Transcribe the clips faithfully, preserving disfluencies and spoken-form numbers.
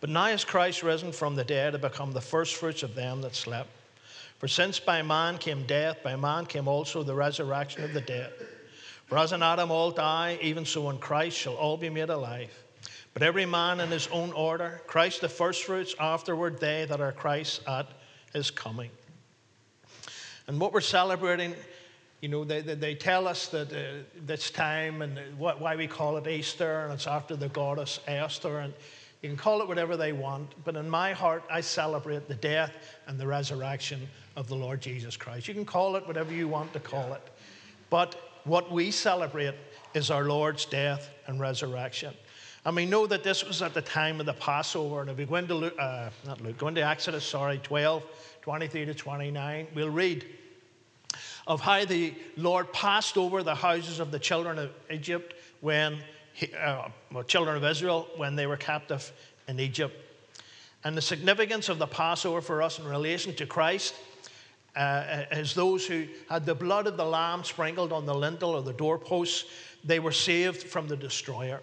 But now is Christ risen from the dead to become the firstfruits of them that slept. For since by man came death, by man came also the resurrection of the dead. For as in Adam all die, even so in Christ shall all be made alive. But every man in his own order, Christ the firstfruits, afterward they that are Christ at his coming. And what we're celebrating, you know, they, they, they tell us that uh, this time and what, why we call it Easter, and it's after the goddess Esther, and you can call it whatever they want, but in my heart, I celebrate the death and the resurrection of the Lord Jesus Christ. You can call it whatever you want to call it, but what we celebrate is our Lord's death and resurrection. And we know that this was at the time of the Passover. And if we go into Luke, uh, not Luke, go into Exodus, sorry, twelve, twenty-three to twenty-nine, we'll read of how the Lord passed over the houses of the children of Egypt when, he, uh, well, children of Israel, when they were captive in Egypt. And the significance of the Passover for us in relation to Christ uh, is those who had the blood of the lamb sprinkled on the lintel or the doorposts, they were saved from the destroyer.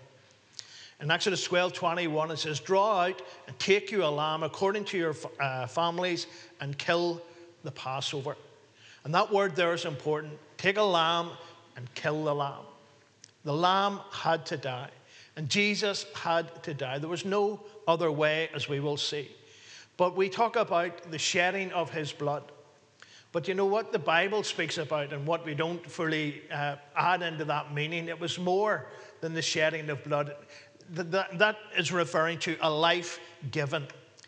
In Exodus twelve, twenty-one, it says, draw out and take you a lamb according to your uh, families and kill the Passover. And that word there is important. Take a lamb and kill the lamb. The lamb had to die. And Jesus had to die. There was no other way, as we will see. But we talk about the shedding of his blood. But you know what the Bible speaks about, and what we don't fully uh, add into that meaning, it was more than the shedding of blood. That, that is referring to a life given.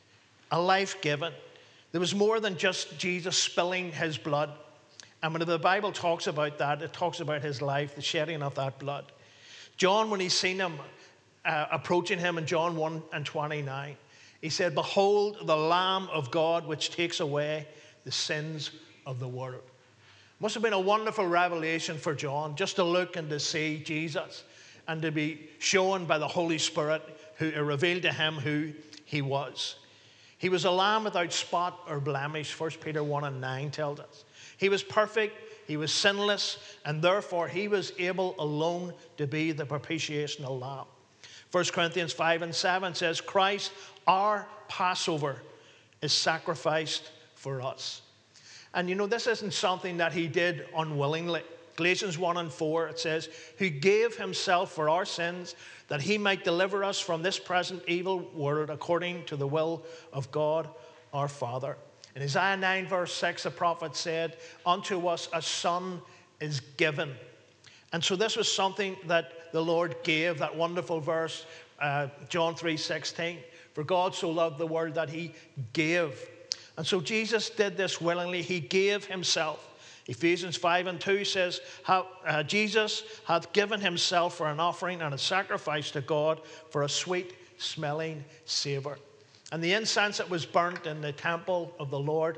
A life given. There was more than just Jesus spilling his blood. And when the Bible talks about that, it talks about his life, the shedding of that blood. John, when he seen him uh, approaching him in John one and twenty-nine, he said, behold the Lamb of God which takes away the sins of the world. Must have been a wonderful revelation for John just to look and to see Jesus and to be shown by the Holy Spirit who revealed to him who he was. He was a lamb without spot or blemish, First Peter one and nine tells us. He was perfect, he was sinless, and therefore he was able alone to be the propitiational lamb. First Corinthians five and seven says, Christ, our Passover, is sacrificed for us. And you know, this isn't something that he did unwillingly. Galatians one and four, it says, who gave himself for our sins, that he might deliver us from this present evil world according to the will of God our Father. In Isaiah nine verse six, the prophet said, unto us a son is given. And so this was something that the Lord gave, that wonderful verse, uh, John three sixteen. For God so loved the world that he gave. And so Jesus did this willingly. He gave himself. Ephesians five and two says, how, uh, Jesus hath given himself for an offering and a sacrifice to God for a sweet smelling savor. And the incense that was burnt in the temple of the Lord,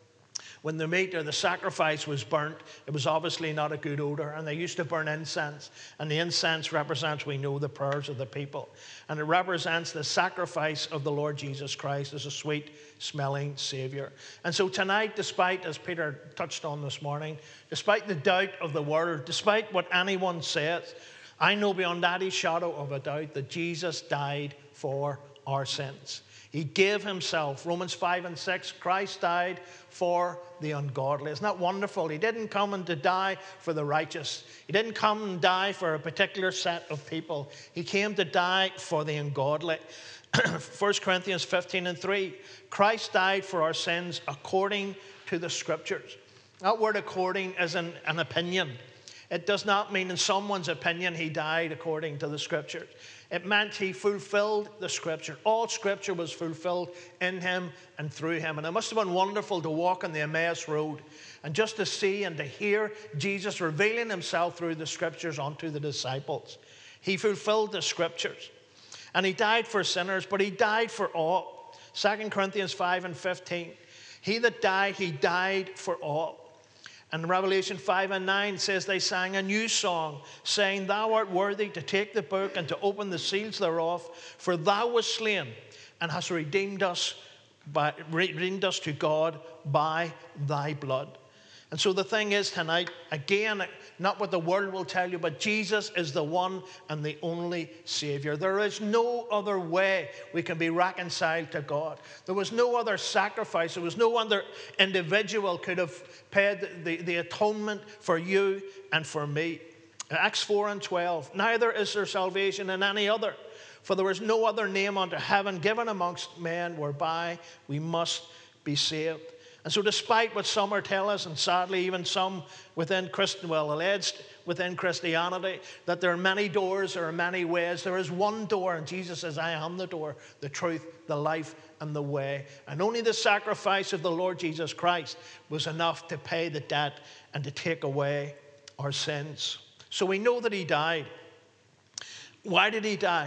when the meat or the sacrifice was burnt, it was obviously not a good odor. And they used to burn incense. And the incense represents, we know, the prayers of the people. And it represents the sacrifice of the Lord Jesus Christ as a sweet smelling Savior. And so tonight, despite, as Peter touched on this morning, despite the doubt of the world, despite what anyone says, I know beyond any shadow of a doubt that Jesus died for our sins. He gave himself. Romans five and six, Christ died for the ungodly. Isn't that wonderful? He didn't come and to die for the righteous. He didn't come and die for a particular set of people. He came to die for the ungodly. First Corinthians fifteen and three, Christ died for our sins according to the Scriptures. That word according is an, an opinion. It does not mean in someone's opinion he died according to the Scriptures. It meant he fulfilled the Scripture. All Scripture was fulfilled in him and through him. And it must have been wonderful to walk on the Emmaus Road and just to see and to hear Jesus revealing himself through the Scriptures unto the disciples. He fulfilled the Scriptures. And he died for sinners, but he died for all. Second Corinthians five and fifteen. He that died, he died for all. And Revelation five and nine says they sang a new song, saying, thou art worthy to take the book and to open the seals thereof, for thou wast slain and hast redeemed us, by, redeemed us to God by thy blood. And so the thing is tonight, again, not what the world will tell you, but Jesus is the one and the only Savior. There is no other way we can be reconciled to God. There was no other sacrifice. There was no other individual could have paid the, the atonement for you and for me. Acts four and twelve, neither is there salvation in any other, for there is no other name under heaven given amongst men whereby we must be saved. And so despite what some are telling us, and sadly even some within Christ, well, alleged within Christianity, that there are many doors, there are many ways, there is one door, and Jesus says, I am the door, the truth, the life, and the way. And only the sacrifice of the Lord Jesus Christ was enough to pay the debt and to take away our sins. So we know that he died. Why did he die?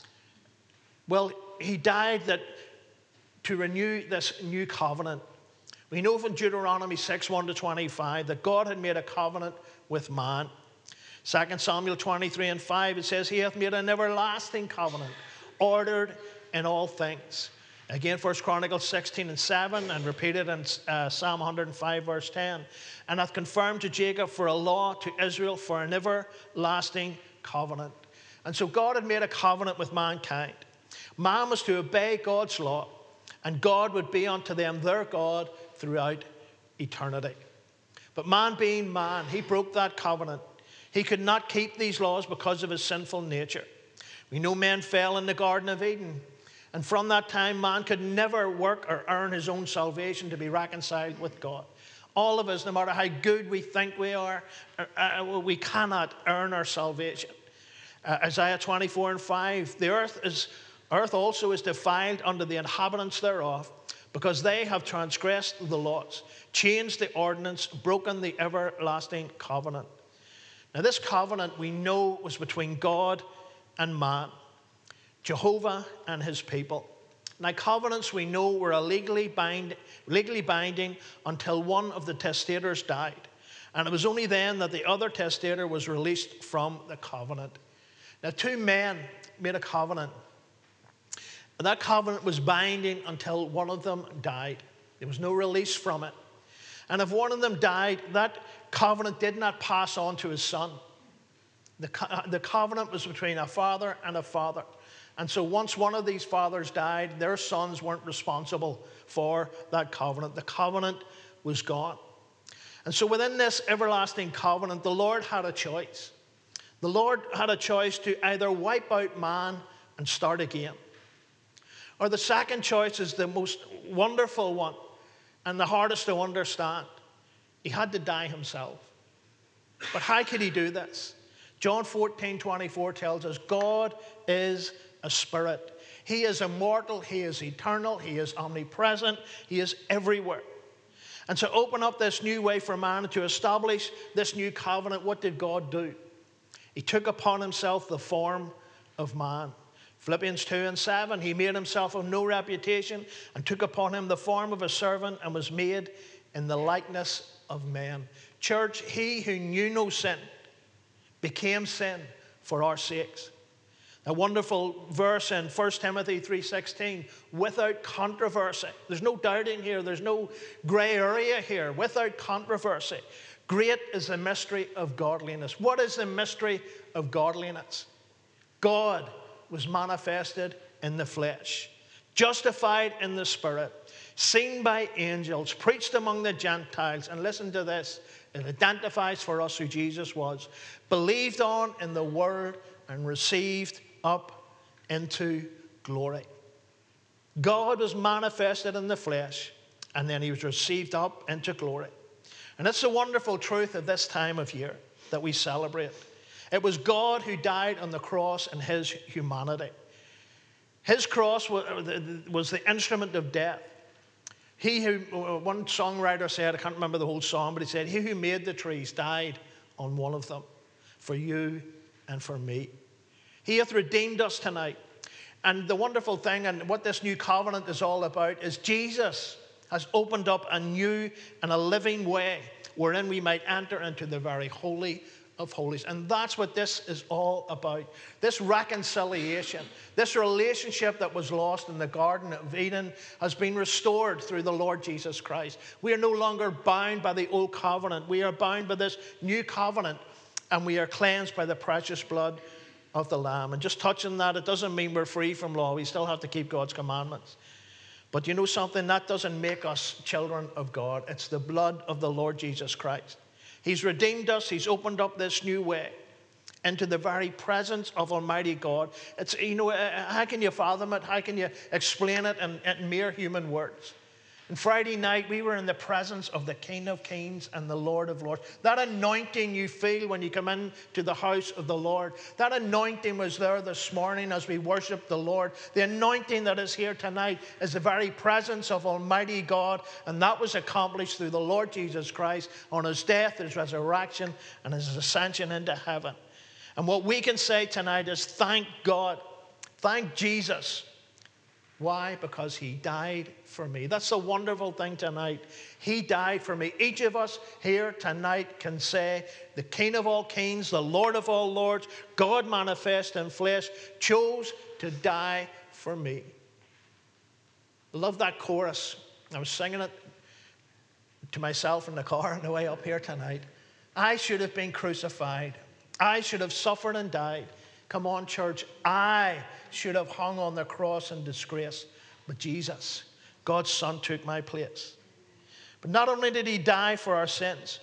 Well, he died that to renew this new covenant. We know from Deuteronomy six, one to twenty-five, that God had made a covenant with man. Second Samuel twenty-three and five, it says, he hath made an everlasting covenant, ordered in all things. Again, First Chronicles sixteen and seven, and repeated in uh, Psalm one hundred five, verse ten. And hath confirmed to Jacob for a law, to Israel for an everlasting covenant. And so God had made a covenant with mankind. Man was to obey God's law, and God would be unto them their God throughout eternity. But man being man, he broke that covenant. He could not keep these laws because of his sinful nature. We know men fell in the Garden of Eden. And from that time, man could never work or earn his own salvation to be reconciled with God. All of us, no matter how good we think we are, uh, we cannot earn our salvation. Uh, Isaiah twenty-four and five, the earth is earth also is defiled under the inhabitants thereof, because they have transgressed the laws, changed the ordinance, broken the everlasting covenant. Now this covenant we know was between God and man, Jehovah and his people. Now covenants we know were legally, bind, legally binding until one of the testators died. And it was only then that the other testator was released from the covenant. Now two men made a covenant. And that covenant was binding until one of them died. There was no release from it. And if one of them died, that covenant did not pass on to his son. The, co- the covenant was between a father and a father. And so once one of these fathers died, their sons weren't responsible for that covenant. The covenant was gone. And so within this everlasting covenant, the Lord had a choice. The Lord had a choice to either wipe out man and start again. Or the second choice is the most wonderful one and the hardest to understand. He had to die himself. But how could he do this? John fourteen, twenty-four tells us God is a spirit. He is immortal. He is eternal. He is omnipresent. He is everywhere. And to open up this new way for man, to establish this new covenant, what did God do? He took upon himself the form of man. Philippians two and seven, he made himself of no reputation and took upon him the form of a servant and was made in the likeness of men. Church, he who knew no sin became sin for our sakes. A wonderful verse in First Timothy three sixteen, without controversy. There's no doubting here. There's no gray area here. Without controversy. Great is the mystery of godliness. What is the mystery of godliness? God was manifested in the flesh, justified in the spirit, seen by angels, preached among the Gentiles, and listen to this, it identifies for us who Jesus was, believed on in the word and received up into glory. God was manifested in the flesh, and then he was received up into glory. And it's a wonderful truth of this time of year that we celebrate. It was God who died on the cross in his humanity. His cross was the instrument of death. He who, one songwriter said, I can't remember the whole song, but he said, he who made the trees died on one of them for you and for me. He hath redeemed us tonight. And the wonderful thing, and what this new covenant is all about, is Jesus has opened up a new and a living way wherein we might enter into the very holy of Holies. And that's what this is all about. This reconciliation, this relationship that was lost in the Garden of Eden has been restored through the Lord Jesus Christ. We are no longer bound by the old covenant. We are bound by this new covenant, and we are cleansed by the precious blood of the Lamb. And just touching that, it doesn't mean we're free from law. We still have to keep God's commandments. But you know something? That doesn't make us children of God. It's the blood of the Lord Jesus Christ. He's redeemed us. He's opened up this new way into the very presence of Almighty God. It's, you know, how can you fathom it? How can you explain it in, in mere human words? And Friday night, we were in the presence of the King of Kings and the Lord of Lords. That anointing you feel when you come into the house of the Lord, that anointing was there this morning as we worship the Lord. The anointing that is here tonight is the very presence of Almighty God, and that was accomplished through the Lord Jesus Christ on his death, his resurrection, and his ascension into heaven. And what we can say tonight is thank God, thank Jesus. Why? Because he died for me. That's the wonderful thing tonight. He died for me. Each of us here tonight can say, the King of all kings, the Lord of all lords, God manifest in flesh, chose to die for me. I love that chorus. I was singing it to myself in the car on the way up here tonight. I should have been crucified. I should have suffered and died. Come on, church. I should have hung on the cross in disgrace. But Jesus, God's Son, took my place. But not only did he die for our sins,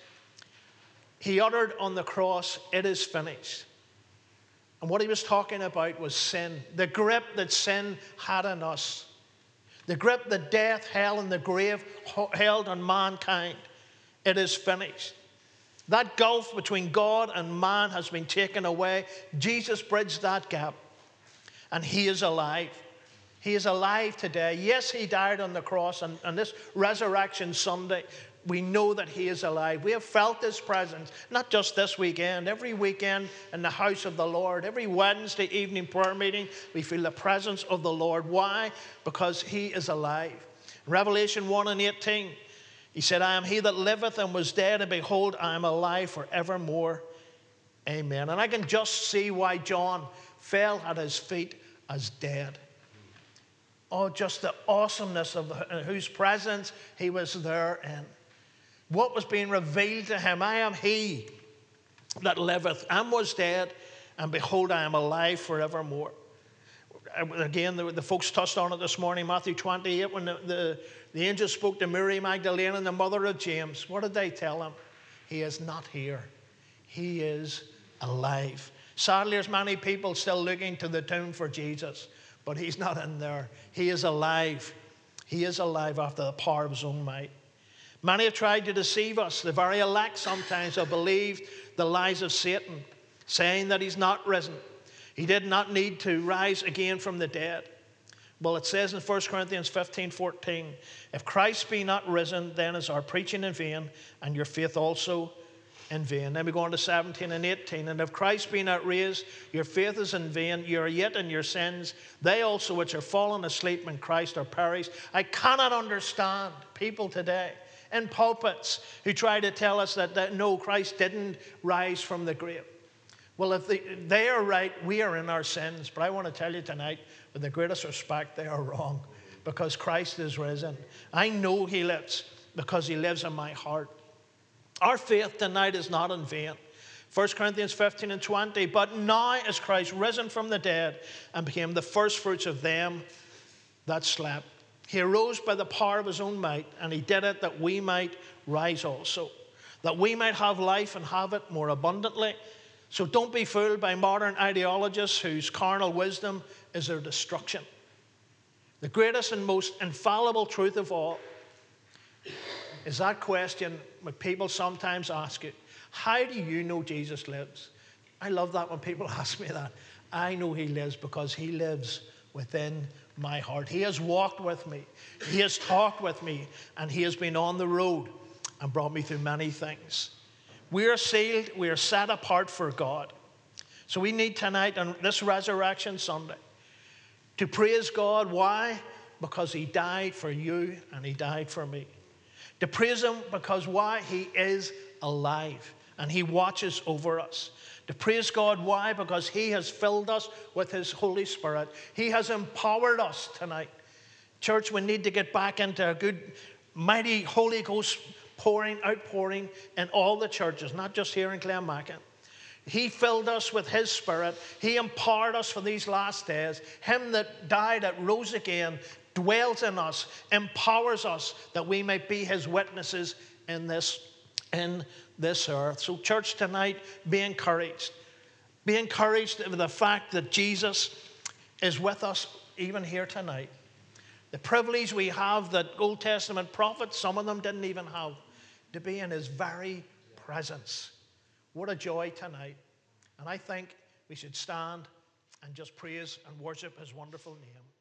he uttered on the cross, it is finished. And what he was talking about was sin. The grip that sin had on us. The grip that death, hell, and the grave held on mankind. It is finished. That gulf between God and man has been taken away. Jesus bridged that gap. And he is alive. He is alive today. Yes, he died on the cross. And, and this Resurrection Sunday, we know that he is alive. We have felt his presence, not just this weekend. Every weekend in the house of the Lord, every Wednesday evening prayer meeting, we feel the presence of the Lord. Why? Because he is alive. Revelation one and eighteen. He said, I am he that liveth and was dead, and behold, I am alive forevermore. Amen. And I can just see why John fell at his feet as dead. Oh, just the awesomeness of whose presence he was there in. What was being revealed to him? I am he that liveth and was dead, and behold, I am alive forevermore. Again, the, the folks touched on it this morning, Matthew twenty-eight, when the, the, the angel spoke to Mary Magdalene and the mother of James. What did they tell him? He is not here. He is alive. Sadly, there's many people still looking to the tomb for Jesus, but he's not in there. He is alive. He is alive after the power of his own might. Many have tried to deceive us. The very elect sometimes have believed the lies of Satan, saying that he's not risen. He did not need to rise again from the dead. Well, it says in First Corinthians fifteen fourteen, if Christ be not risen, then is our preaching in vain, and your faith also in vain. Then we go on to seventeen and eighteen. And if Christ be not raised, your faith is in vain. You are yet in your sins. They also which are fallen asleep in Christ are perished. I cannot understand people today in pulpits who try to tell us that, that no, Christ didn't rise from the grave. Well, if they, they are right, we are in our sins. But I want to tell you tonight, with the greatest respect, they are wrong, because Christ is risen. I know he lives because he lives in my heart. Our faith tonight is not in vain. First Corinthians fifteen and twenty, but now is Christ risen from the dead and became the firstfruits of them that slept. He arose by the power of his own might, and he did it that we might rise also, that we might have life and have it more abundantly. So don't be fooled by modern ideologists whose carnal wisdom is their destruction. The greatest and most infallible truth of all is that question that people sometimes ask you, how do you know Jesus lives? I love that when people ask me that. I know he lives because he lives within my heart. He has walked with me. He has talked with me. And he has been on the road and brought me through many things. We are sealed. We are set apart for God. So we need tonight on this Resurrection Sunday to praise God. Why? Because he died for you and he died for me. To praise him because why? He is alive. and he watches over us. To praise God. Why? Because he has filled us with his Holy Spirit. He has empowered us tonight. Church, we need to get back into a good, mighty Holy Ghost pouring, outpouring in all the churches, not just here in Clonmacnoise. He filled us with his Spirit. He empowered us for these last days. Him that died, that rose again, dwells in us, empowers us that we may be his witnesses in this, in this earth. So church, tonight, be encouraged. Be encouraged with the fact that Jesus is with us even here tonight. The privilege we have that Old Testament prophets, some of them didn't even have, to be in his very presence. What a joy tonight. And I think we should stand and just praise and worship his wonderful name.